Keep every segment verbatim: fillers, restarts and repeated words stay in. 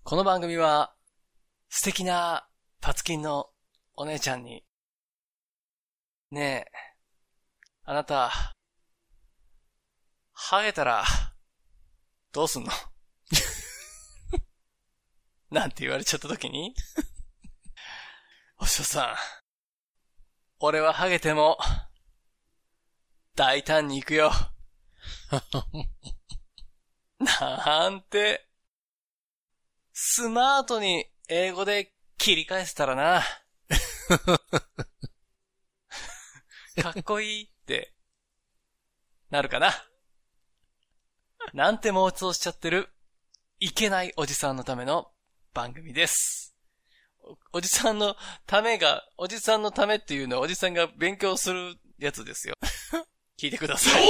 この番組は素敵なパツキンのお姉ちゃんに、ねえ、あなた、ハゲたらどうすんのなんて言われちゃった時に、お師匠さん、俺はハゲても大胆に行くよ。なんて、スマートに英語で切り返せたらな。かっこいいってなるかな。なんて妄想しちゃってるいけないおじさんのための番組です。お, おじさんのためが、おじさんのためっていうのはおじさんが勉強するやつですよ。聞いてください。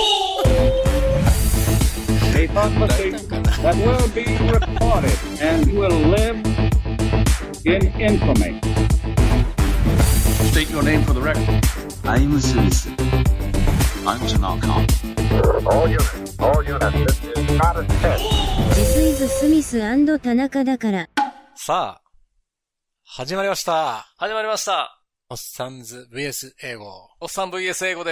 A conversation that will be recorded and will live in infamy. State your name for the record. I'm Smith. I'm Tanaka. All units, all units, this is not a test. This is Smith and 田中だから。 さあ、始まりました。 始まりました。 おっさんず ブイエス 英語。 おっさん ブイエス 英語です。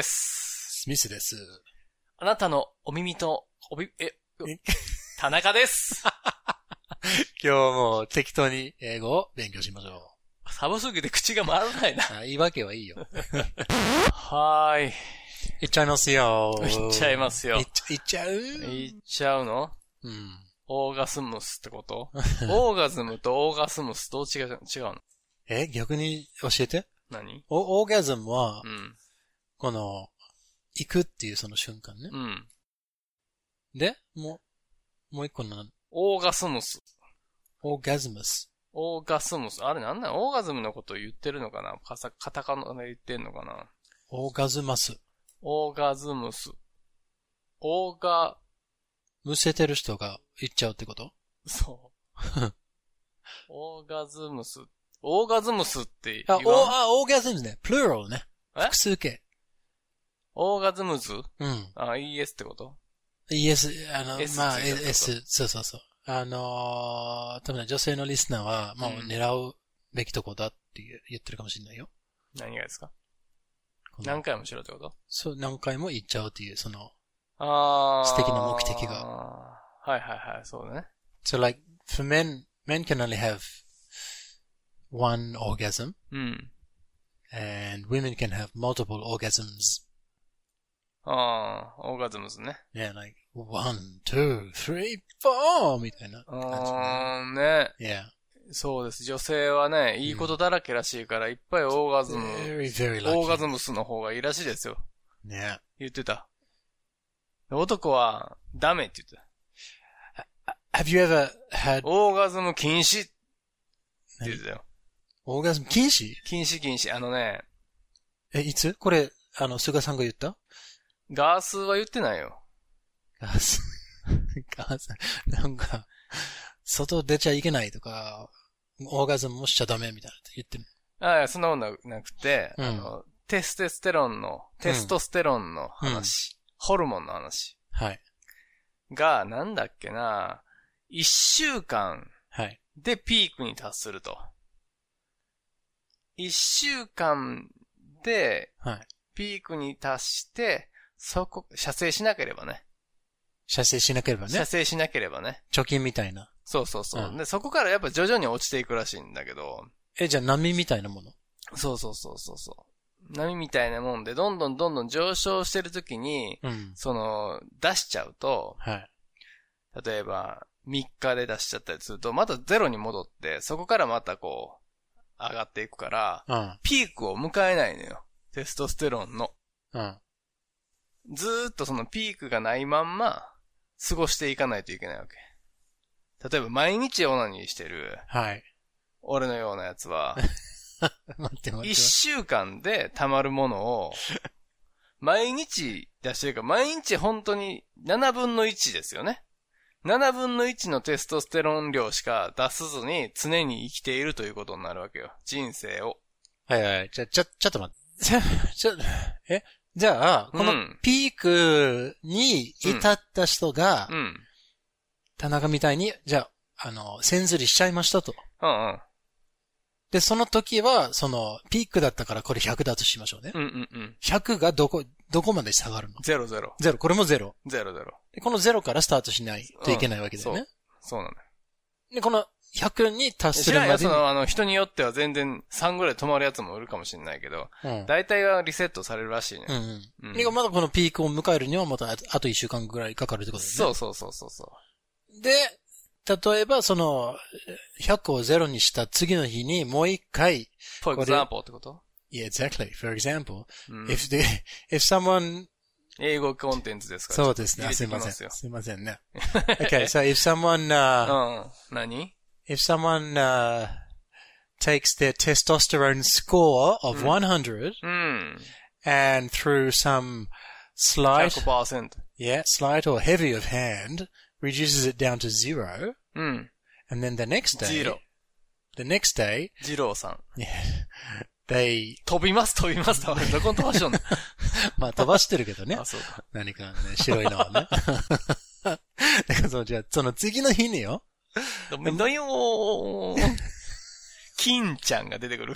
スミスです。 あなたのお耳と、おび、え、田中です。 今日も適当に英語を勉強しましょう。寒すぎて口が回らないな。 あ、言い訳はいいよ。 はーい。 いっちゃいますよ。 いっちゃいますよ。 いっちゃ、いっちゃういっちゃうの？ うん。 オーガスムスってことオーガズムとオーガスムスどう違う、違うの？ え、逆に教えて。 何？ オーガズムは、 うん、 この、行くっていうその瞬間ね。 うん。 で、もう、もう一個なの。 オーガスムス。 オーガズムス。 オーガスムス。あれなんだオーガズムのことを言ってるのかなカサ、カタカナで言ってんのかなオーガズマス。 オーガズムス。オーガ、 むせてる人が言っちゃうってこと？ そう。オーガズムス。オーガズムスって言う。あ、 あ、オーガズムスね。プルーラルね。複数形。 オーガズムズ？ うん。 あ、イーエス ってこと？ イーエス、あの、 S、 まあ、S、そうそうそう。あのー、多分ね、女性のリスナーは、もう狙うべきとこだって言ってるかもしれないよ。 何がですか？何回もしろってこと？ そう、何回も言っちゃうっていう、その、 あ素敵な目的が。 はいはいはい、そうだね。 So like, for men, men can only have one orgasm. うん。 And women can have multiple orgasms. ああ、オーガズムズね。 Yeah, like, one, two, three, four! みたいな感じ、ね。 あーね。 Yeah. そうです。女性はね、いいことだらけらしいから、いっぱいオーガズム、 very, very lucky. オーガズムスの方がいいらしいですよ。 ね。 言ってた。男は、ダメって言ってた。Have you ever had... オーガズム禁止って言ってたよ。 オーガズム禁止？ 禁止禁止。あのね。 え、いつ？これ、あの、菅さんが言った？ ガースは言ってないよ。 ガース。ガース。なんか、外出ちゃいけないとか、オーガズムもしちゃダメみたいなって言ってる。 ああ、そんなことなくて、 うん、 あの、テステステロンの、テストステロンの話、うん、ホルモンの話。 はい。 が、なんだっけな、一週間でピークに達すると。一週間で、ピークに達して、そこ、射精しなければね。 射精しなければね。 射精しなければね。 貯金みたいな。 そうそうそう、うん。で、そこからやっぱ徐々に落ちていくらしいんだけど。 え、じゃあ波みたいなもの？ そうそうそうそうそう。波みたいなもんで、どんどんどんどん上昇してるときに、うん、その、出しちゃうと、はい、例えば、みっかで出しちゃったりすると、またゼロに戻って、そこからまたこう、上がっていくから、うん、ピークを迎えないのよ。テストステロンの。うん、ずーっとそのピークがないまんま、過ごしていかないといけないわけ。例えば毎日オナニーしてる。はい。俺のようなやつは、待って待って。一週間で溜まるものを、毎日出してるから、毎日本当にななぶんのいちですよね。ななぶんのいちのテストステロン量しか出さずに常に生きているということになるわけよ。人生を。 はいはい。じゃ、ちょ、ちょっと待って。ちょ、ちょ、えじゃあ、このピークに至った人が、うんうん、田中みたいに、じゃあ、 あの、線ずりしちゃいましたと。 うんうん。 で、その時は、その、ピークだったからこれひゃくだとしましょうね。 うんうんうん。 ひゃくがどこ、どこまで下がるの？ ゼロゼロ。 ゼロ。これもゼロ。 ゼロゼロ。 で、このゼロからスタートしないといけないわけだよね。うん、 そう。そうなんだよ。 で、このひゃくに達するまでに。 知らんよ、その、あの、人によっては全然さんぐらい止まるやつもいるかもしれないけど、うん、大体はリセットされるらしいね。うんうん。 うん、で、まだこのピークを迎えるにはまたあといっしゅうかんぐらいかかるってことだよね。 そうそうそうそうそう。 で、例えば、その、ひゃくをゼロにした次の日にもう一回。 For example ってこと ？Yeah, exactly. For example, if the, if someone 英語コンテンツですから。 そうですね。すいません。すいませんね。Okay, so if someone, uh, うん。何 if someone, uh, takes their testosterone score of one hundred, うん。 and through some slight, ひゃくパーセント. Yeah, slight or heavy of hand, reduces it down to zero, うん。 and then the next day, ゼロ。 the next day, ジローさん。 Yeah, they 飛びます飛びますどこに飛ばしよんのまあ飛ばしてるけどね。 あ、そうか。 何かね、白いのはね。だからその、じゃあ、その次の日によ。 ダメだよー。金ちゃんが出てくるから。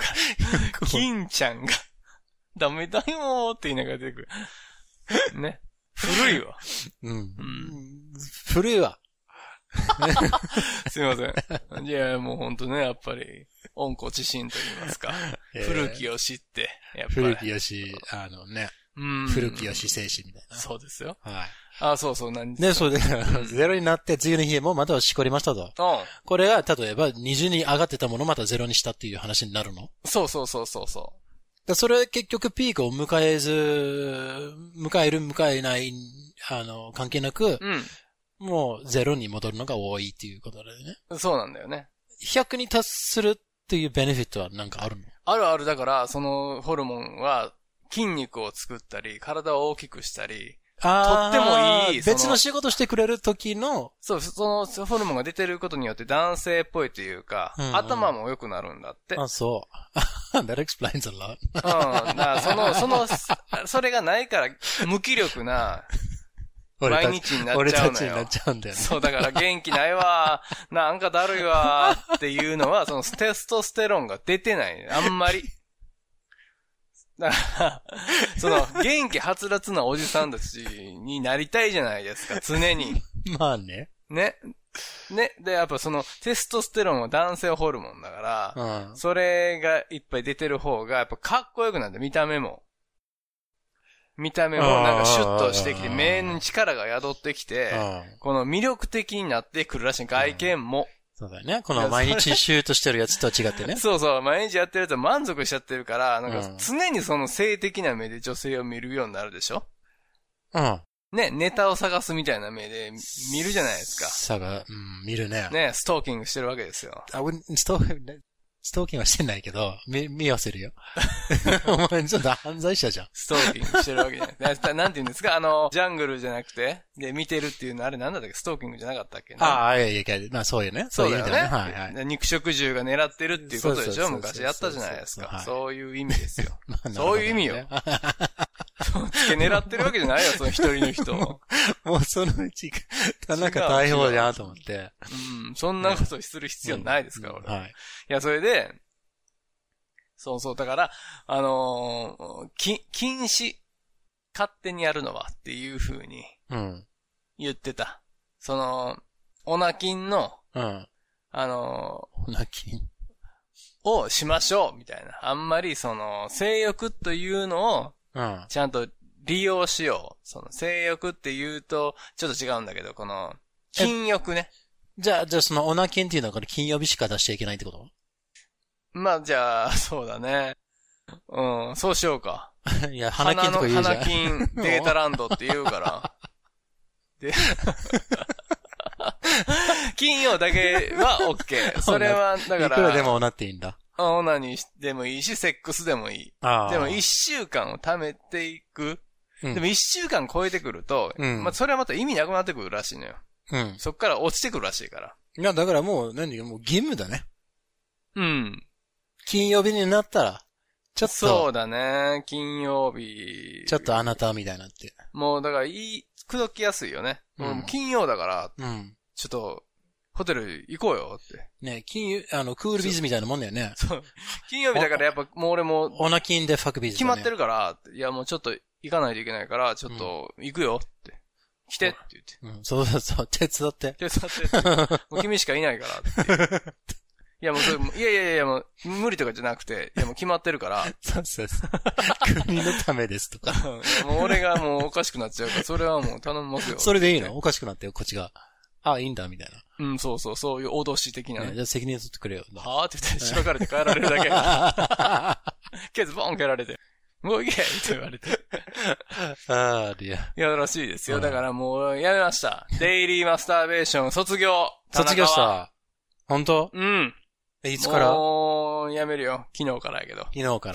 金ちゃんが、ダメだよーって言いながら出てくる。ね。古いわ。 うん。うん、古いわ。 すいません。いや、もうほんとね、やっぱり、温故知新と言いますか。えー、古きを知って、やっぱり。 古きよし、あのね。うん古きよし精神みたいな。 そうですよ。 はい。 あ、そうそう、何ね、そうで、ゼロになって次の日もまたしこりましたと。うん。これが、例えば、にじゅうに上がってたものをまたゼロにしたっていう話になるの？ そうそうそうそうそう。 だそれ結局ピークを迎えず、迎える迎えない、あの、関係なく、うん。もうゼロに戻るのが多いっていうことだよね。 そうなんだよね。 ひゃくに達するっていうベネフィットはなんかあるの？ あるある。だから、そのホルモンは筋肉を作ったり、体を大きくしたり、とってもいい。 別の仕事してくれる時の。 そう、そのホルモンが出てることによって男性っぽいというか、うんうん、頭も良くなるんだって。 あ、そう。That explains a lot. うん。だからその、その、それがないから無気力な、毎日になっちゃうのよ。 俺たちになっちゃうんだよね。 そう、だから元気ないわ、なんかだるいわっていうのは、そのテストステロンが出てない。あんまり。だから、その、元気はつらつなおじさんたちになりたいじゃないですか、常に。 まあね。 ね。ね。で、やっぱその、テストステロンは男性ホルモンだから、うん、それがいっぱい出てる方が、やっぱかっこよくなって、見た目も。見た目もなんかシュッとしてきて、目に力が宿ってきて、この魅力的になってくるらしい、外見も。 そうだよね。この毎日シュートしてるやつとは違ってね。 そうそう。毎日やってるやつは満足しちゃってるから、なんか常にその性的な目で女性を見るようになるでしょ？うん。ね、ネタを探すみたいな目で見るじゃないですか。 探、うん、見るね。 ね、ストーキングしてるわけですよ。 あ、ストーキング、ストーキングはしてないけど、見、見合せるよ。お前ちょっと犯罪者じゃん。 ストーキングしてるわけじゃない。なんて言うんですかあの、ジャングルじゃなくて、で、見てるっていうのあれなんだったっけストーキングじゃなかったっけああ、いやいやいや、まあそうよね。 そうだよね。 そういう意味だね。はいはい。 肉食獣が狙ってるっていうことでしょ昔やったじゃないですか。そういう意味ですよ。そういう意味よ。つけ狙ってるわけじゃないよ、その一人の人。 もうそのうち、田中大砲じゃんと思って。 うん、そんなことする必要ないですから、俺。はい。いや、それで、そうそう、だから、あのー、き、禁止、勝手にやるのはっていう風に、言ってた。うん、その、オナキンの、うん、あのー、オナキンをしましょう、みたいな。あんまりその、性欲というのを、ちゃんと利用しよう。その、性欲って言うと、ちょっと違うんだけど、この、禁欲ね。 じゃあ、じゃあそのオナキンっていうのはこれ金曜日しか出しちゃいけないってこと？ まあ、じゃあ、そうだね。うん、そうしようか。 いや、花金とか言うじゃん。 花金データランドって言うから。で、金曜だけは OK。それは、だから。 いくらでもオナっていいんだ。 オナにでもいいし、セックスでもいい。でも一週間を貯めていく。うん、でも一週間超えてくると、うん、まあ、それはまた意味なくなってくるらしいのよ。うん。そっから落ちてくるらしいから。 いや、だからもう、何もう義務だね。 うん。 金曜日になったら、ちょっと。 そうだね。金曜日。 ちょっとあなたみたいになって。 もうだからいい、口説きやすいよね。うん、もう金曜だから、うん、ちょっと、 ホテル行こうよって。 ね、金曜、あの、クールビズみたいなもんだよね。 そう。金曜日だからやっぱもう俺も。 オナキンでファクビズ、ね。 決まってるから、いやもうちょっと行かないといけないから、ちょっと行くよって。来てって言って。 うん、そうそうそう、手伝って。 手伝ってって。もう君しかいないからって。いやもうそれ、いやいやいやもう無理とかじゃなくて、いやもう決まってるから。 そうそうそう。国のためですとか。 もう俺がもうおかしくなっちゃうから、それはもう頼みますよ。 それでいいの？おかしくなってよ、こっちが。あ、いいんだ、みたいな。 うん、そうそう、そういう脅し的なね。 ねじゃあ責任取ってくれよ。 はぁって言って、しばかれて帰られるだけ。ケツボン蹴られて。もう行けって言われて。 ああ、リア。 いや、らしいですよ。だからもう、やめました。デイリーマスターベーション卒業。 卒業した。本当？ うん。 え、いつから？ もう、やめるよ。昨日からやけど。 昨日から。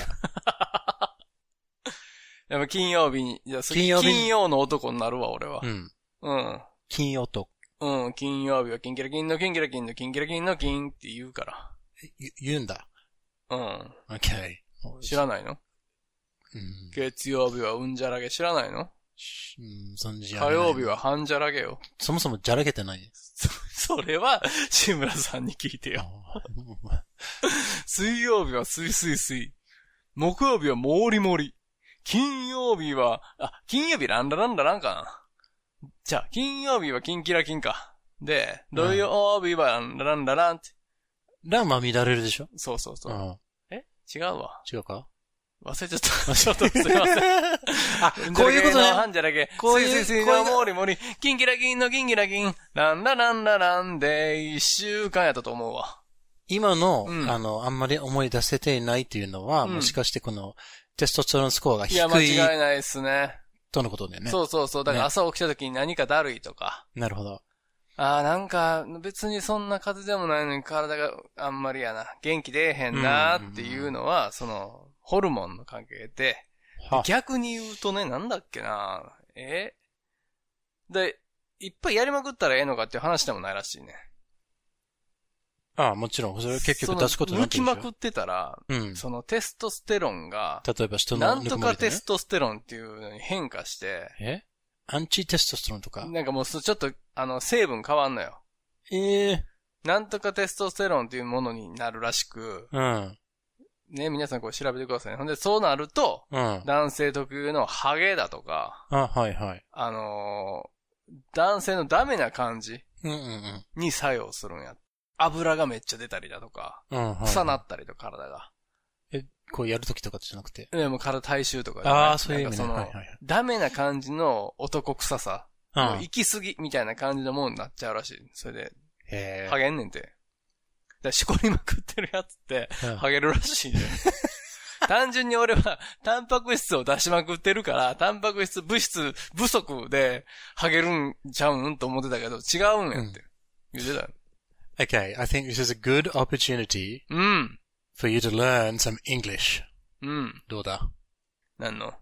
でも金曜日に、いや金曜日金曜の男になるわ、俺は。うん。うん。 金曜と。 うん、金曜日はキンキラキンのキンキラキンのキンキラキンのキンって言うから。 言うんだ。 うん。 OK。 知らないの？うん。月曜日はうんじゃらげ知らないの？うん、そんじゃらげ。火曜日は半じゃらげよ。 そもそもじゃらげてない。 そ、それは、志村さんに聞いてよ。水曜日はすいすいすい。木曜日はもりもり。金曜日は、あ、金曜日ランダランダランかな。じゃあ、金曜日はキンキラキンか。で、土曜日はランダランダランって。 ランは乱れるでしょ？ そうそうそう。うん、え違うわ。 違うか？ 忘れちゃった。ちょっとすいません。 あ、こういうことね。 半じゃらけ。こういう。スイスイのモリモリ。キンキラキンのキンキラキン。ランダランダランで一週間やったと思うわ。 今の、うん、あの、あんまり思い出せていないっていうのは、うん、もしかしてこの、テストステロンスコアが低い。いや、 間違いないですね。 とのことだよね。 そうそうそう。だから朝起きた時に何かだるいとか。 ね、なるほど。 ああ、なんか、別にそんな風邪でもないのに体があんまりやな。元気出えへんなーっていうのは、その、ホルモンの関係で、逆に言うとね、なんだっけなえで、いっぱいやりまくったらええのかっていう話でもないらしいね。 ああ、もちろん。それ結局出すことになってるでしょ。 抜きまくってたら、うん、そのテストステロンが、 例えば人のなんとかテストステロンっていうのに変化して、 えアンチテストステロンとかなんかもうちょっと、あの、成分変わんのよ。 ええー。 なんとかテストステロンっていうものになるらしく、うん。ね、皆さんこれ調べてくださいね。ほんで、そうなると、うん、男性特有のハゲだとか、 あ、はいはい。 あのー、男性のダメな感じに作用するんや。油がめっちゃ出たりだとか、うんはいはい、臭なったりとか体が。 え、こうやるときとかじゃなくて。 いや、もう体体臭とか、 ね。ああ、そういう意味ね。 その、はいはいはい、ダメな感じの男臭さ、うん、もう行き過ぎみたいな感じのものになっちゃうらしい。それで、へハゲんねんて。だしこりまくってるやつって、ハゲるらしいね。単純に俺は、タンパク質を出しまくってるから、タンパク質物質不足で、ハゲるんちゃうんと思ってたけど、違うんやって。言ってたよ。 Okay, I think this is a good opportunity for you to learn some English. うん。 どうだ？ 何の？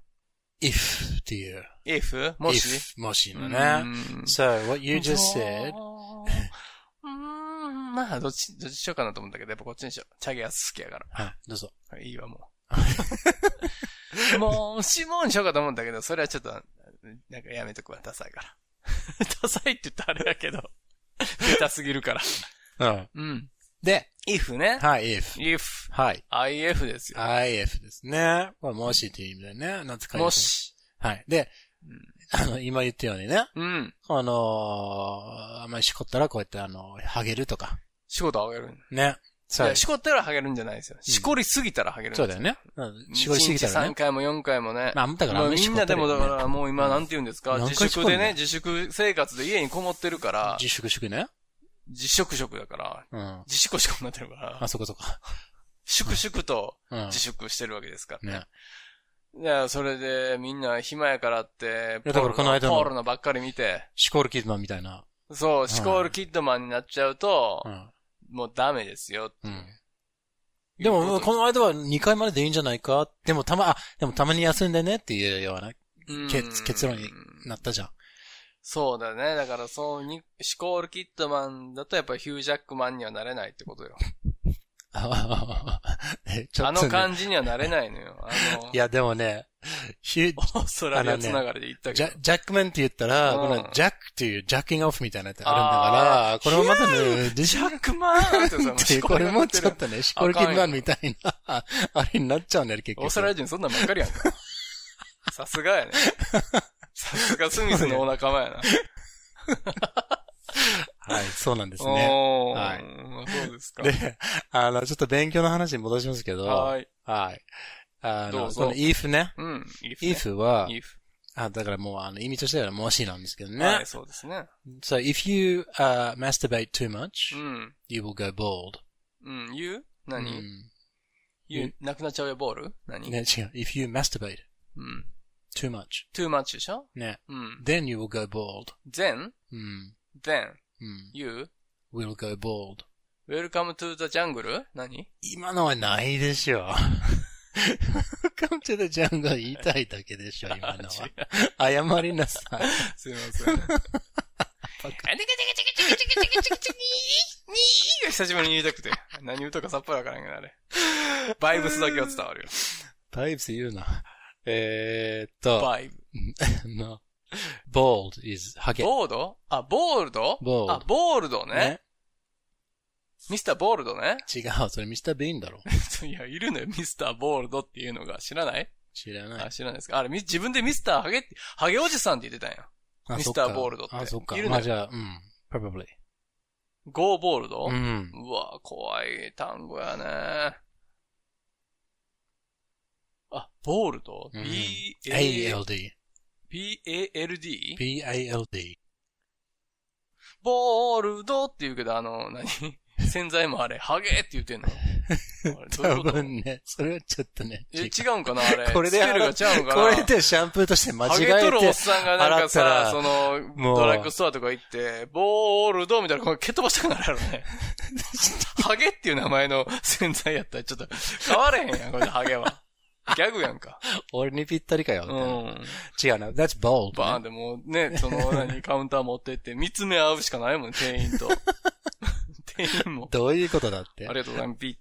if っていう。 if? もし if もしのね。So, what you just said. うーん、まあ、どっち、どっちしようかなと思ったけど、やっぱこっちにしよう。チャゲやつ好きやから。 はい、どうぞ。 いいわ、もう。もう、シモンにしようかと思ったけど、それはちょっと、なんかやめとくわ、ダサいから。ダサいって言ったらあれだけど、ベタすぎるから。 うん。 うん。 で、 if ね。 はい、if。 if。 はい。 if ですよ。 if ですね。これもしっていう意味だよね。懐かしい。 もし。 はい。で、うん、あの、今言ったようにね。 うん。 あのー、あんまりしこったらこうやってあの、ハゲるとか。 しこったらハゲる。 ね。 そう。いや、しこったらハゲるんじゃないですよ。しこりすぎたらハゲるんですよ。 そうだよね。うん、しこりすぎたらね。 さんかいもよんかいもね。 まあ、だからもうみんなでもだからもう今なんて言うんですか、自粛でね、自粛生活で家にこもってるから。 自粛宿ね。 自粛食だから、うん、自粛しかなってるから。 あ、そこそこ。 粛々と自粛してるわけですからね。ねいや、それでみんな暇やからって、 だからこの間のポールのばっかり見て。 シコールキッドマンみたいな。 そう、シコールキッドマンになっちゃうと、うん、もうダメですよって、うん。 でも、この間はにかいまででいいんじゃないかでもたま、あ、でもたまに休んでねっていうような結、結論になったじゃん。 そうだね。だからそうに、シコールキッドマンだとやっぱりヒュージャックマンにはなれないってことよ。 あの感じにはなれないのよ。あのいや、でもね、 ヒュー、オーストラリアつながりで言ったけど。 ね、ジ, ジャックマンって言ったら、うん、このジャックっていうジャッキングオフみたいなやつあるんだから、これもまたね、 ジャックマンってこれもちょっとね、シコルキンマンみたいな、あれになっちゃうんだよ、結局。 オーストラリア人そんなんばっかりやんか。さすがやね。さすがスミスのお仲間やな。 はい、そうなんですね。 はい。そうですか。 で、あの、ちょっと勉強の話に戻しますけど、はい。はい。あの、この if ね。 うん。 if は、 if。 あ、だからもう、あの、意味としてはもしなんですけどね。 はい、そうですね。 So, if you, uh, masturbate too much, うん。 you will go bald. うん、you? 何？うん。you、なくなっちゃうよ、ボール？何？ ね、違う。if you masturbate. うん。 too much. too much でしょ？ ね。 うん。 then you will go bald. then? うん。 then? うん。 you? will go bald. welcome to the jungle? 何？ 今のはないでしょ。welcome to the jungle 言いたいだけでしょ、今のは。謝りなさい。 すいません。バカ。チキチキチキチキチキチキチキチキチキチキにーが久しぶりに言いたくて。何言うとかさっぱりわからんけどあれ。バイブスだけは伝わるよ。 バイブス言うな。えーっと。 バイブ。 no. bold is ハゲ。 ボード？あ、ボールド？ ボールド。 あ、ボールドね。ねミスターボールドね。 違う、それミスタービーンだろ。 いや、いるのよ、ミスターボールドっていうのが。知らない？ 知らない。 あ、知らないですか。あれ、自分でミスターハゲって、ハゲおじさんって言ってたんや。ミスターボールドって。 あ、そっか。 いるのよ。 まあじゃあ、うん。probably。 ゴーボールド？ うん。 うわ、怖い単語やね。あ、ボールド？ うん、 B A L D。 B A L D？ B A L D。 ボールドって言うけど、あの、何洗剤もあれ、ハゲって言ってんの多分ね、それはちょっとね。 違うんかなあれ。 これで、 スペルがちゃうんかなこれでシャンプーとして間違えて。 ハゲとるおっさんがなんかさ、その、ドラッグストアとか行って、ボールドみたいな、これ蹴っ飛ばしたくなるやろね。ハゲっていう名前の洗剤やったらちょっと変われへんやん、これハゲは。ギャグやんか。 俺にぴったりかよ。 うん。 違うな。That's bold、ね。 バーンでもね、その、何、カウンター持ってって、見つめ合うしかないもん、店員と。店員も。 どういうことだって。 ありがとうございます、ピーって。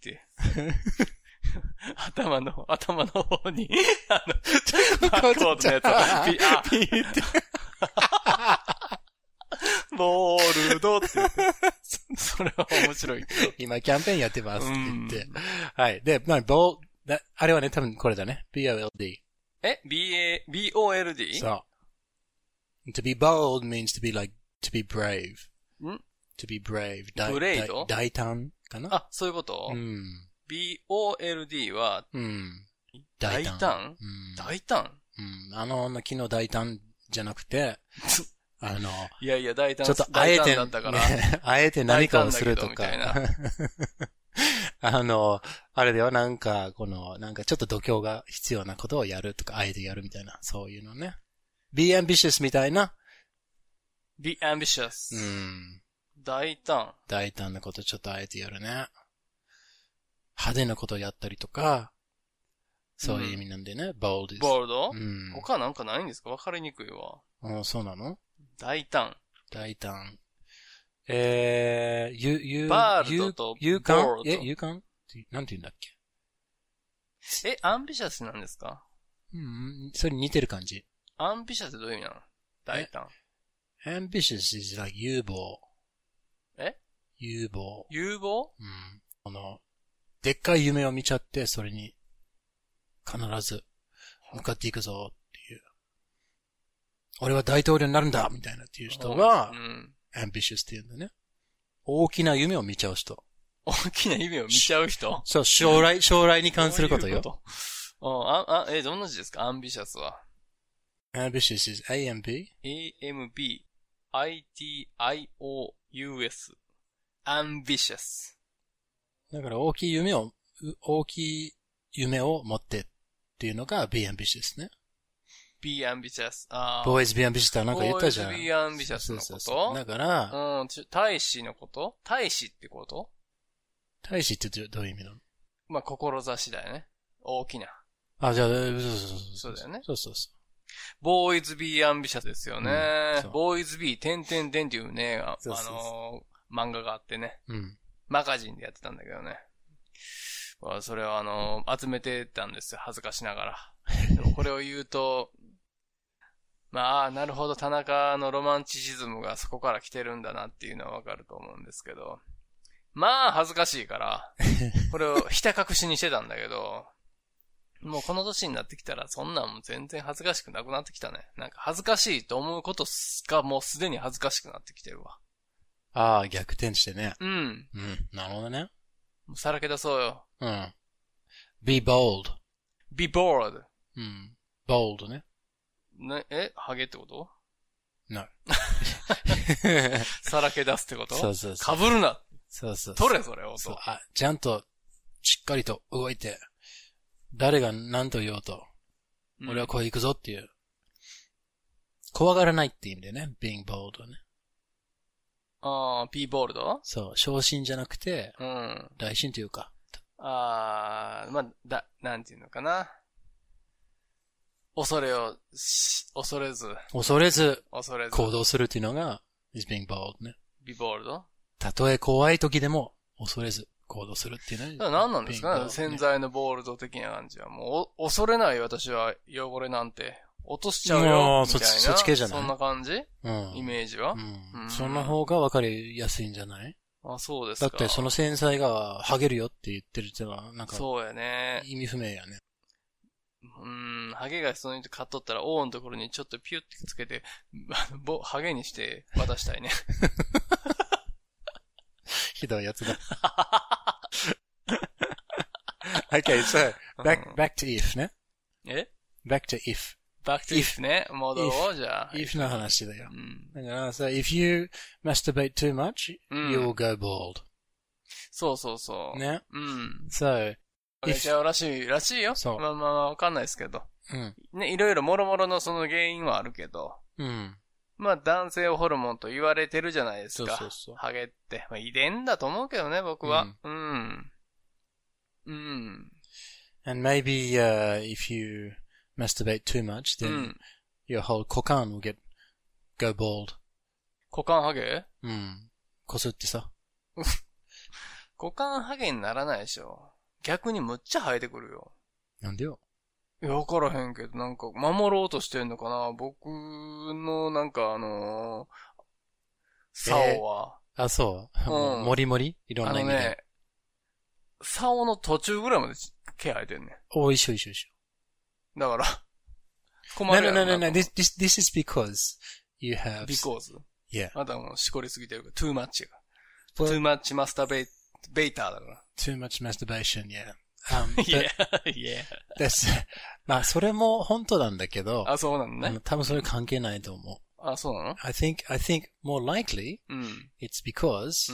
頭の、頭の方に、あの、バーコードのやつを、ピー、あ、ピーって。ボールドって言って。それは面白いけど。 今キャンペーンやってますって言って。はい。で、まあ、ボー、あれはね、多分これだね。B O L D。 え ?B A、B O L D? そう。to be bold means to be like, to be brave. ん to be brave. ブレイド大胆かなあ、そういうことうん。 B O L D は、 うん。 大胆うん、 大胆うん。あの、昨日大胆じゃなくて、あの、 いやいや大胆ちょっとあえて、 だったから、 ね、あえて何かをするとか。あの、あれではなんか、この、なんかちょっと度胸が必要なことをやるとか、あえてやるみたいな、そういうのね。be ambitious みたいな。 be ambitious。 うん。 大胆。 大胆なことちょっとあえてやるね。派手なことをやったりとか、そういう意味なんでね、うん、bold is。 ボールド？ うん。 他なんかないんですか？わかりにくいわ。 ああ、そうなの？ 大胆。 大胆。えー、you, you, バールドと you, you ボー can? ルド。 え、you can? なんて言うんだっけ？ え、アンビシャスなんですか？ うん、それに似てる感じ。 アンビシャスってどういう意味なの？大胆。 ambitious is like 有望。 え？ 有望。 有望？ うん。あの、でっかい夢を見ちゃって、それに必ず向かっていくぞっていう。俺は大統領になるんだみたいなっていう人が、うん、ambitious って言うんだね。大きな夢を見ちゃう人。 大きな夢を見ちゃう人？ そう、将来、将来に関することよ。 ういうことあ、あ、え、どんな字ですか？アンビシャスは。 ambitious is A M B? A M B I T I O U S. ambitious. だから大きい夢を、大きい夢を持ってっていうのが be ambitious ね。 be ambitious. ああ。boys be ambitious ってなんか言ったじゃん。 boys be ambitious のこと？そうそうそうだから、 うん、大使のこと大使ってこと大使ってどういう意味なの？ まあ、志だよね。大きな。 あ、じゃあ、そうそうそう。 そうだよね。 そうそうそう。 boys be ambitious ですよね。 うん、 boys be 点々点っていうね、あ、そうそうそうあのー、漫画があってね。 うん。 マガジンでやってたんだけどね。 それをあの、集めてたんですよ。恥ずかしながら。でもこれを言うと、まあ、なるほど、田中のロマンチシズムがそこから来てるんだなっていうのはわかると思うんですけど。まあ、恥ずかしいから、これをひた隠しにしてたんだけど、もうこの年になってきたら、そんなんも全然恥ずかしくなくなってきたね。なんか恥ずかしいと思うことがもうすでに恥ずかしくなってきてるわ。 ああ、逆転してね。 うん。 うん。なるほどね。 もうさらけ出そうよ。 うん。be bold. be bold. うん。bold ね。 ね、えハゲってこと ?no. さらけ出すってことそうそうそう。 被るな。 そうそうそう。 取れ、それを。 そう。あ、ちゃんと、しっかりと動いて、誰が何と言おうと、うん、俺はこう行くぞっていう。怖がらないって意味でね、being bold ね。 ああ、be bold? そう、小心じゃなくて、 うん。 大心というか。 ああ、まあ、だ、なんていうのかな。恐れをし、恐れず。 恐れず、 恐れず。 行動するっていうのが、is being bold ね。 be bold? たとえ怖い時でも、恐れず行動するっていうね。 だから何なんですかね、ね潜在のボールド的な感じは。もう、恐れない私は汚れなんて、落としちゃうよ、みたいな。そ, そっち系じゃないそんな感じ、うん、イメージは、 うんうん、その方が分かりやすいんじゃないあ、そうですか。 だってその繊細が剥げるよって言ってるってのは、なんか。 そうやね。 意味不明やね。 うーん、ハゲがその人買っとったら、王のところにちょっとピュッてつけて、ぼ、ハゲにして渡したいね。 ひどいやつだ。okay, so, back, back to if ね。 え ?back to if. back to if ね。戻ろう、じゃあ。 if の話だよ。うん、だから、so, if you masturbate too much, うん、you will go bald. そうそうそう。 ね。 うん。 so, めちゃらしい、らしいよ。そう。まあまあ、わかんないですけど。うん。ね、いろいろ諸々のその原因はあるけど。うん。まあ、男性ホルモンと言われてるじゃないですか。そうそうそう。ハゲって。まあ、遺伝だと思うけどね、僕は。うん。うん。うん、 And maybe, uh, if you masturbate too much, then、うん、your whole 股間 will get, go bald. 股間ハゲうん。こすってさ。 股間ハゲにならないでしょ。逆にむっちゃ生えてくるよ。 なんでよ。 いや、わからへんけど、なんか、守ろうとしてんのかな僕の、なんかあのー、竿は。 えー、あ、そう。うん。もりもりいろんな意味で。あのね、 竿の途中ぐらいまで毛生えてんねん。 お、一緒一緒一緒。 だから、困るやろな。 No, no, no, no, no. This, this, this is because you have... Because? Yeah. あなたもしこりすぎてるから、too much が。too much masturbate, ベーターだから。 too much masturbation, yeah.Um, yeah, yeah. です。まあ、それも本当なんだけど。 あ、そうなのね。 多分それ関係ないと思う。 あ、そうなの I think, I think more likely, うん、it's because、うん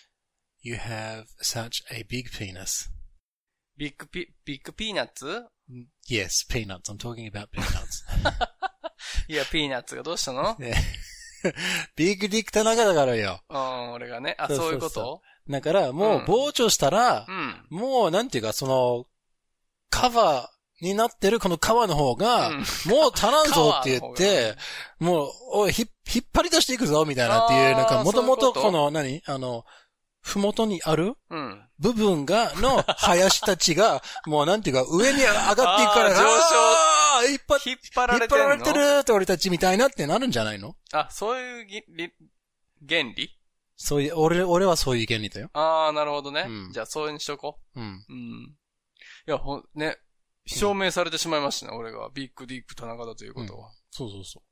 、you have such a big penis. ビッグピ、ビッグピーナッツ Yes, peanuts. I'm talking about peanuts. いや、ピーナッツがどうしたのビッグディック田中だからよ。 うん、俺がね。あ、そうそうそういうことだから、もう、膨張したら、うん、もう、なんていうか、その、カバーになってるこの皮の方が、うん、もう足らんぞって言って、もう、おい、ひ、引っ張り出していくぞ、みたいなっていう、なんか、もともとこの、何あの、ふもとにある、うん、部分が、の林たちが、もうなんていうか、上に上がっていくから、 上昇、 引っ張、 引っ張られてるの。 引っ張られてるって俺たちみたいなってなるんじゃないの？ あ、そういう原理？ そういう、俺、俺はそういう原理だよ。 ああ、なるほどね。うん、じゃあ、そうにしとこう。うん。うん。いや、ほ、ね、証明されてしまいましたね、うん、俺が。ビッグディック田中だということは。うん、 そうそうそう。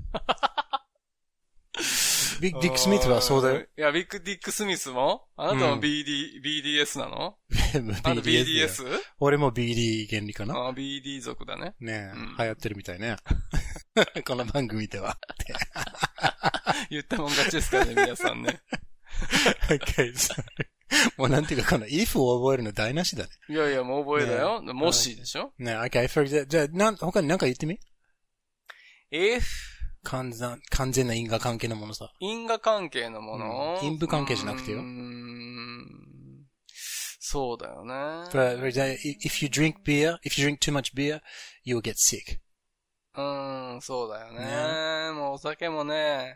ビッグディックスミスはそうだよ。 いや、ビッグディックスミスもあなたも ビーディー、うん、ビーディーエス なのあと ビーディーエス? 俺も ビーディー 原理かなああ、ビーディー 族だね。 ねえ、うん、流行ってるみたいね。この番組では。 言ったもん勝ちですからね、皆さんね。 okay, so, もうなんていうか、この if を覚えるの台無しだね。 いやいや、もう覚えだよ。ね、もしでしょね、okay, for example, じゃあ、なん、他に何か言ってみ ?if 完全、完全な因果関係のものさ。 因果関係のもの、 うん、因果関係じゃなくてよ。うーんそうだよね。 But, if you drink beer, if you drink too much beer, you will get sick. うーん、そうだよね。ねもうお酒もね、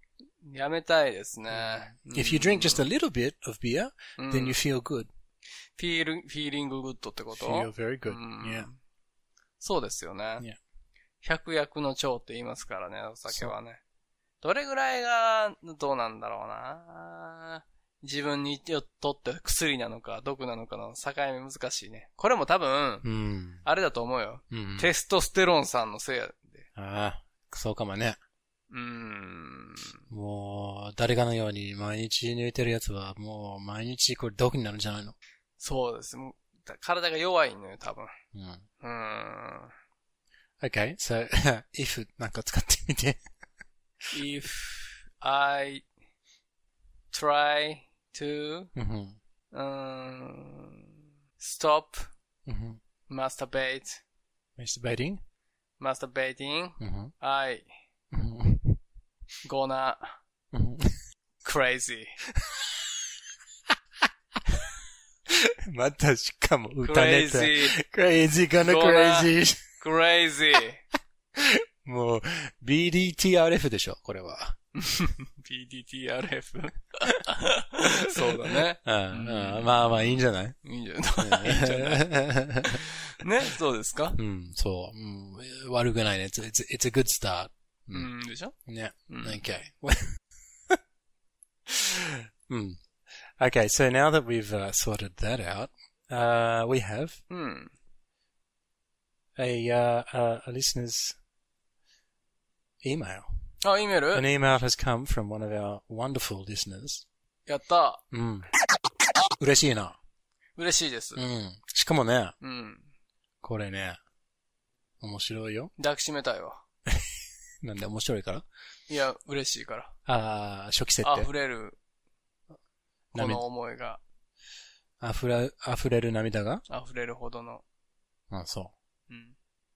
やめたいですね。 If you drink just a little bit of beer, then you feel good. feel, feeling good ってこと feel very good.、うん、 yeah. そうですよね。 Yeah. 百薬の長って言いますからね、お酒はね。どれぐらいが、どうなんだろうな。自分にとって薬なのか毒なのかの境目難しいね。これも多分、うん、あれだと思うよ、うん。テストステロンさんのせいやで。 ああ、そうかもね。 うーん。 もう、誰かのように毎日抜いてるやつはもう毎日これ毒になるんじゃないの？ そうです。もう体が弱いのよ、多分。 うん。 うーん。 Okay, so, if なんか使ってみて。 If I try to、うん、stop、うん、masturbate masturbating masturbating、うん、I、 うん、 gonna、うん、crazy またしかも歌ネタ crazy gonna crazy crazy もう ビーディーティーアールエフ でしょこれはビーディーティーアールエフ そうだね、 うんうん、まあまあいいんじゃないいいんじゃないいいんじゃないね、そうですかうん、そう、うん、悪くないね it's, it's, it's a good start うん、でしょね、うん、OK うん Okay, so now that we've、uh, sorted that out, uh, we have、うん、a,、uh, a, a listener's email. あ、イメール An email has come from one of our wonderful listeners. やった。 うん。嬉しいな。 嬉しいです。 うん。しかもね。 うん。 これね、面白いよ。 抱きしめたいわ。 なんで面白いから？ いや、嬉しいから。 ああ、初期設定。 溢れる。この思いが。 溢れ、溢れる涙が？ 溢れるほどの。 あ、そう。 うん。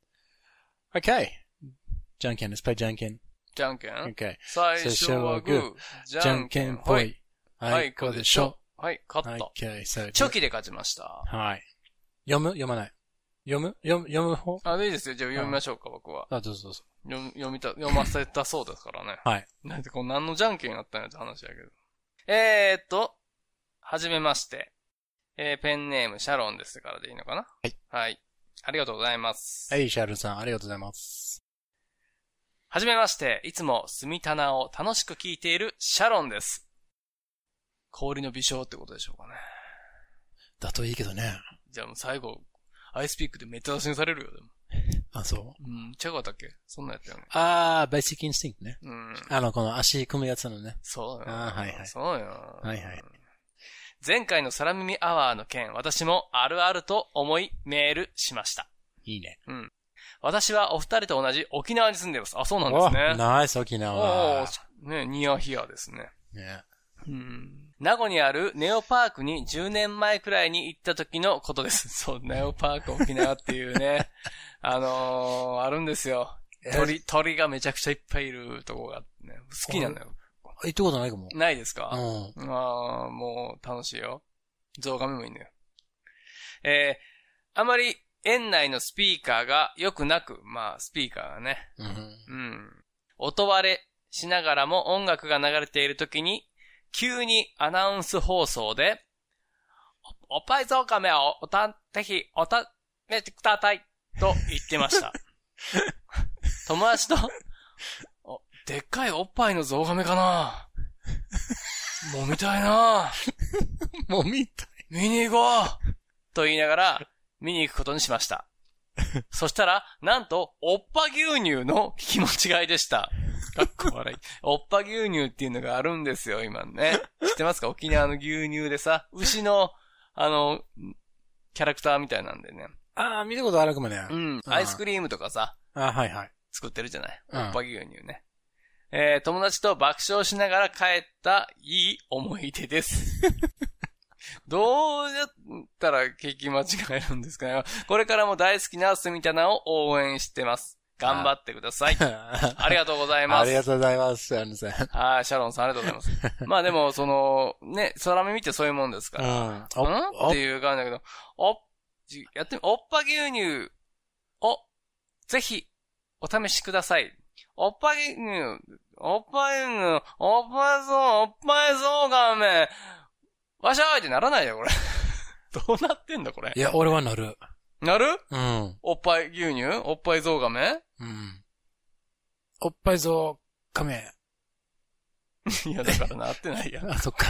Okay. じゃんけん、let's play じゃんけん。 じゃんけん ?Okay. 最初はグー。 じゃんけんぽい。 はい、こうでしょ。はい、勝った。 Okay, so チョキで勝ちました。 はい。読む？読まない？読む？読む、読む方？ あ、いいですよ。じゃあ読みましょうか、僕は。 あ、どうぞどうぞ。 読、読みた、読ませたそうですからね。 はい。 なんでこう何のじゃんけんやったんやって話やけど。えーっと、はじめまして。えー、ペンネームシャロンですからでいいのかな？ はい。 はい。ありがとうございます。 はい、シャロンさん、ありがとうございます。 はじめまして、いつも住み棚を楽しく聞いているシャロンです。氷の微笑ってことでしょうかね。 だといいけどね。 じゃあもう最後、アイスピックでめっちゃ出しにされるよ、でも。 あ、そううん、違うかったっけそんなやったよね。 あー、ベーシックインスティンクね。 うん。 あの、この足組むやつのね。 そうよ。 あー、はいはい。 そうよ。 はいはい。 前回の空耳アワーの件、私もあるあると思いメールしました。 いいね。 うん。私はお二人と同じ沖縄に住んでいます。あ、そうなんですね。 ナイス沖縄。 おー、ね、ニアヒアですね。 ね。 うん。名護にあるネオパークにじゅうねんまえくらいに行った時のことです。そう、ネオパーク沖縄っていうね、あのー、あるんですよ。鳥、鳥がめちゃくちゃいっぱいいるとこが、ね、好きなんだよ。 行ったことないかも。 ないですか？ うん。 ああ、もう楽しいよ。ゾウガメもいいんだよ。えー、あまり園内のスピーカーが良くなく、まあ、スピーカーがね。 うん。うん。 音割れしながらも音楽が流れている時に、急にアナウンス放送で、お、おっぱいゾウガメをおた、ぜひ、おた、めてください、と言ってました。友達と、お、でっかいおっぱいのゾウガメかなもう見たいなもう見たい。 見に行こうと言いながら、見に行くことにしました。そしたら、なんと、おっぱ牛乳の聞き間違いでした。かっこ笑い。おっぱ牛乳っていうのがあるんですよ、今ね。知ってますか？沖縄の牛乳でさ、牛の、あの、キャラクターみたいなんでね。 ああ、見たことあるかもね。 うん。アイスクリームとかさ。 あはいはい。 作ってるじゃない。おっぱ牛乳ね。えー、友達と爆笑しながら帰ったいい思い出です。どうやったら聞き間違えるんですかね。これからも大好きな住みたなを応援してます。頑張ってください。ありがとうございます。 ありがとうございます、シャロンさん。 はい、シャロンさんありがとうございます。まあでも、その、ね、空耳ってそういうもんですから。うん。うんっていう感じだけど、お、やってみ、おっぱ牛乳を、ぜひ、お試しください。おっぱ牛乳、おっぱ牛乳、おっぱいそう、おっぱいそうがめ、わしゃーいってならないよ、これ。 どうなってんだこれ。 いや、俺はなる。 なる？ うん。 おっぱい牛乳？おっぱいゾウガメ？ うん。おっぱいゾウガメ。 いや、だからなってないやん。 あ、そっか。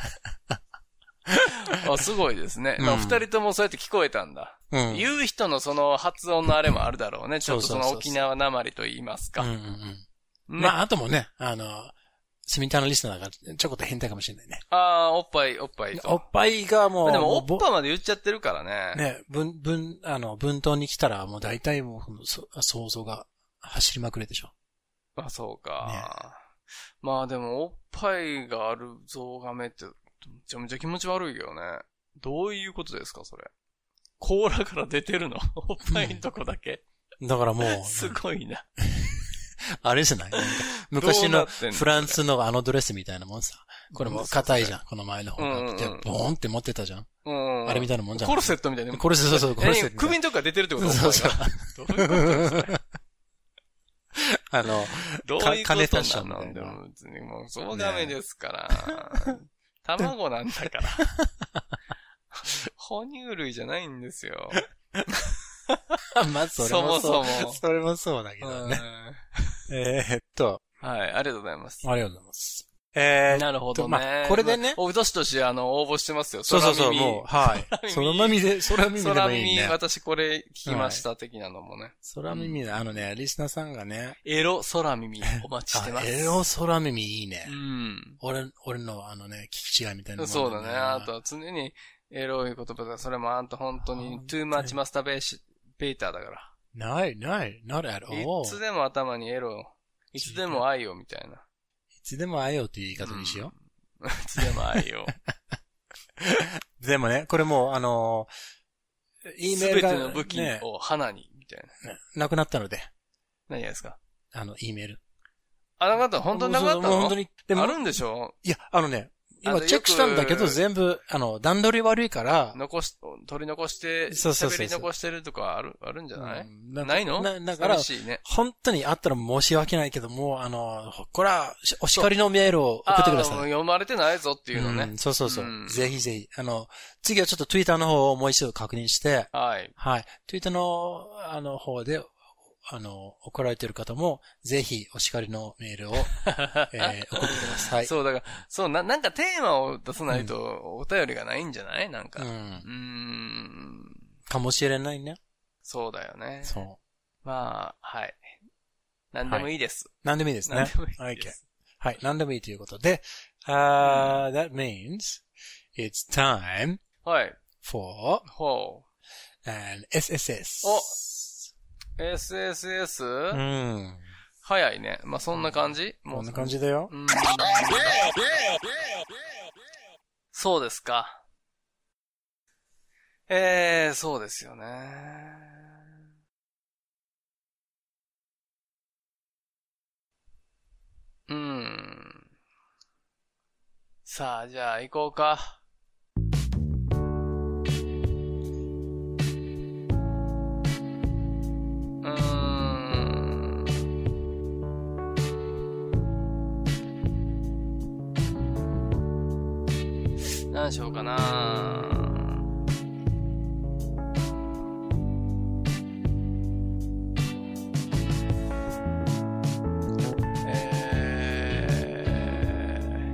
あ、すごいですね。うん、まあ、二人ともそうやって聞こえたんだ。うん。言う人のその発音のあれもあるだろうね。ちょっとその沖縄なまりと言いますか。うんうんうん。ね、まあ、あともね、あの、スミターのリスナーがちょこっと変態かもしれないね。ああ、おっぱい、おっぱいと。 おっぱいがもう。 でも、おっぱまで言っちゃってるからね。 ね、文、文、あの、文頭に来たらもう大体もう、そ想像が走りまくれでしょ。 あ、そうか。ね、まあでも、おっぱいがあるゾウガメって、めちゃめちゃ気持ち悪いけどね。どういうことですか、それ。甲羅から出てるのおっぱいのとこだけ、 うん、だからもう。 すごいな。あれじゃない昔のフランスのあのドレスみたいなもんさ。これも硬いじゃん。この前の方が。うんうん、ボーンって持ってたじゃん。うんうん、あれみたいなもんじゃん。 コルセットみたいな。 コルセット、そうそう、コルセット。 首のとこから出てるってことそうそう。 どういうことですかあの、 どういうことなんだろう。別にもう、そうダメですから。卵なんだから。哺乳類じゃないんですよ。 まあ、それもそう。そもそも。それもそうだけどね。えーっと。 はい、ありがとうございます。 ありがとうございます。えー、 なるほどね。 まあ、これでね。 お、どしどし、あの、応募してますよ。 そうそうそう、もう、はい。空耳で、空耳でもいいね。空耳、 私これ聞きました、的なのもね。 空耳で、あのね、リスナーさんがね。 エロ空耳、お待ちしてます。 エロ空耳いいね。 うん。 俺、俺のあのね、聞き違いみたいな、 ね。そうだね。あとは常に、エロい言葉が、それもあんた本当に、too much masturbation、ベーターだから。 ない、ない、not at all. いつでも頭にエロ、いつでも愛をみたいな。 いつでも愛をっていう言い方にしよう。うん、いつでも愛を。 でもね、これもう、あのー、E メールが、ね。 すべての武器を花に、みたいな、ね。なくなったので。 何がですか？ あの、E メール。 あ、なくなった本当になくなったの？ もう本当に。 でもあるんでしょ？ いや、あのね、今チェックしたんだけど全部、あの、段取り悪いから。 残し、取り残して、 そうそうそう。 喋り残してるとかある、あるんじゃない？うん、なないの？ な、だから、ね、本当にあったら申し訳ないけども、あの、これは、お叱りのメールを送ってください。 読まれてないぞっていうのね。 うん、そうそうそう、うん。ぜひぜひ。あの、次はちょっと Twitter の方をもう一度確認して。 はい。 はい。Twitter の、あの、方で、あの、怒られてる方も、ぜひ、お叱りのメールを、えー、送ってください。 そう、だから、そう、な、なんかテーマを出さないと、お便りがないんじゃない？なんか。うん。うーん。かもしれないね。 そうだよね。 そう。 まあ、はい。何でもいいです。 何、はい、でもいいですね。 何でもいいです。 はい、何でもいいということで、uh, that means, it's time, はい。 for, ほう。and エスエスエス。 おエスエスエス? うん。 早いね。まあ、そんな感じ？ もうそんな感じだよ。うん、 そうですか。えー、そうですよね。うん。さあ、じゃあ行こうか。何しようかな。え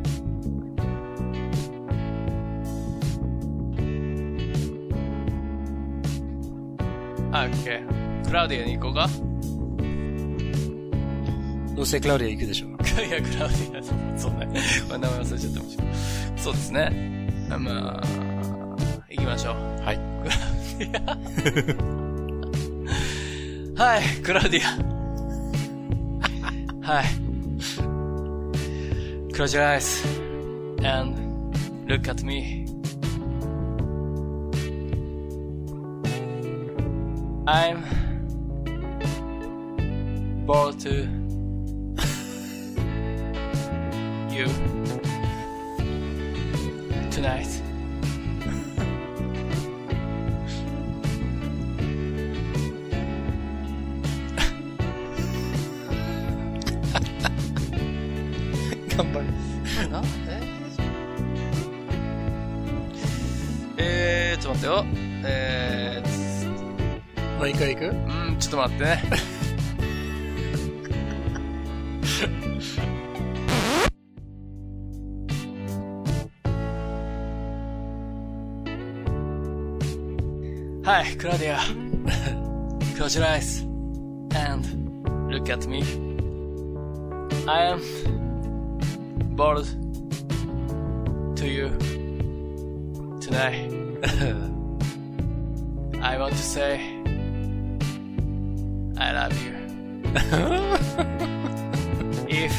ー、あ、オッケー。クラウディアに行こうか。 どうせクラウディア行くでしょ。 いや、クラウディア、そうね。これ名前忘れちゃったもん。そうですね。まあ、行きましょう。 はい。 はい、クラウディア。はい。Close your eyes and look at me. I'm bored to you tonight. とよ。えー、もう一回行く？ うん、ちょっと待ってね。はい、クラウディア。Close your eyes and look at me. I am bored to you tonight. I want to say I love you. If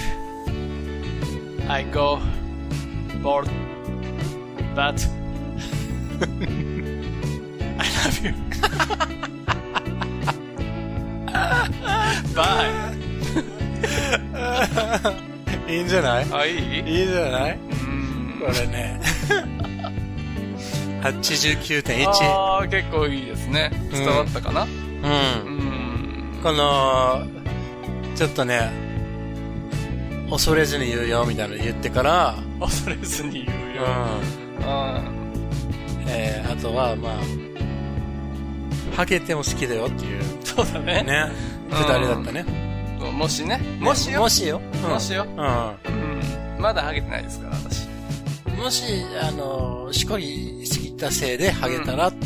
I go bored, but I love you. Bye. いいんじゃない？ あ、いい？ いいんじゃない？ うん。 これね。はちじゅうきゅうてんいち。 ああ、結構いいですね。伝わったかな？うん。うん。 この、ちょっとね、恐れずに言うよみたいなの言ってから、 恐れずに言うよ。うん。 あえー、あとは、まあ、ハゲても好きだよっていう。 そうだね。 ね。二人だったね。 うん、もしね。もしよ。 もしよ。 うん、もしよ。うん。うん。まだハゲてないですから、私。 もし、あの、しこりすぎたせいでハゲたら、うん、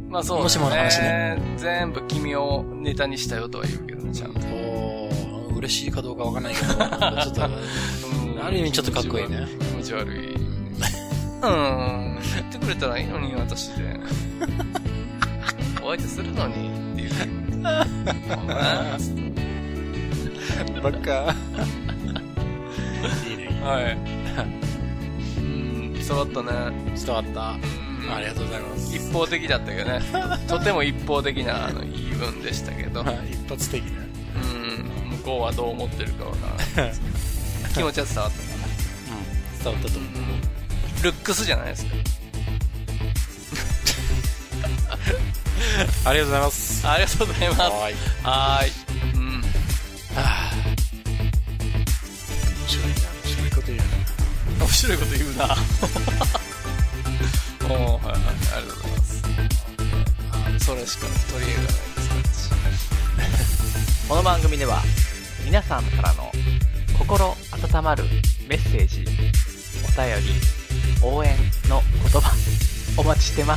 まあそうね。 もしもの話ね。 全部君をネタにしたよとは言うけどね、ちゃんと。 おー、嬉しいかどうかわかんないけど、ちょっと、うん、ある意味ちょっとかっこいいね。 気持ち悪い。うん。言ってくれたらいいのに、私で。お相手するのにっていう。 バカ。いいね。 はい。うん、伝わったね。 伝わった。ありがとうございます。 一方的だったけどね。とても一方的なあの言い分でしたけど。 一発的ね。 うん。向こうはどう思ってるかわからない。気持ちは伝わったかな。うん。 伝わったと思う。 ルックスじゃないですか。 ありがとうございます。 ありがとうございます。 はい。 はーい。うん。 はぁ。面白いな。面白いこと言うな。 面白いこと言うな。おー、はいはい。ありがとうございます。それしか取り柄がないですから。 この番組では、皆さんからの心温まるメッセージ、お便り、応援の言葉、お待ちしてます。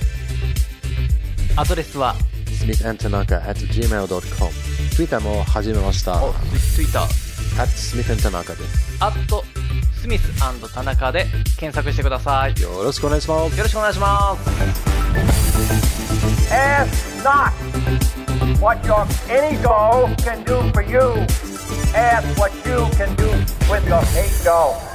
アドレスはスミス アンド タナカ アット ジーメール ドット コム Twitter も始めました。 お、Twitter アット スミス アンド タナカ です。 アットスミス アンド タナカで検索してください。 よろしくお願いします。 よろしくお願いします。 Ask not what your any doll can do for you. Ask what you can do with your hate doll.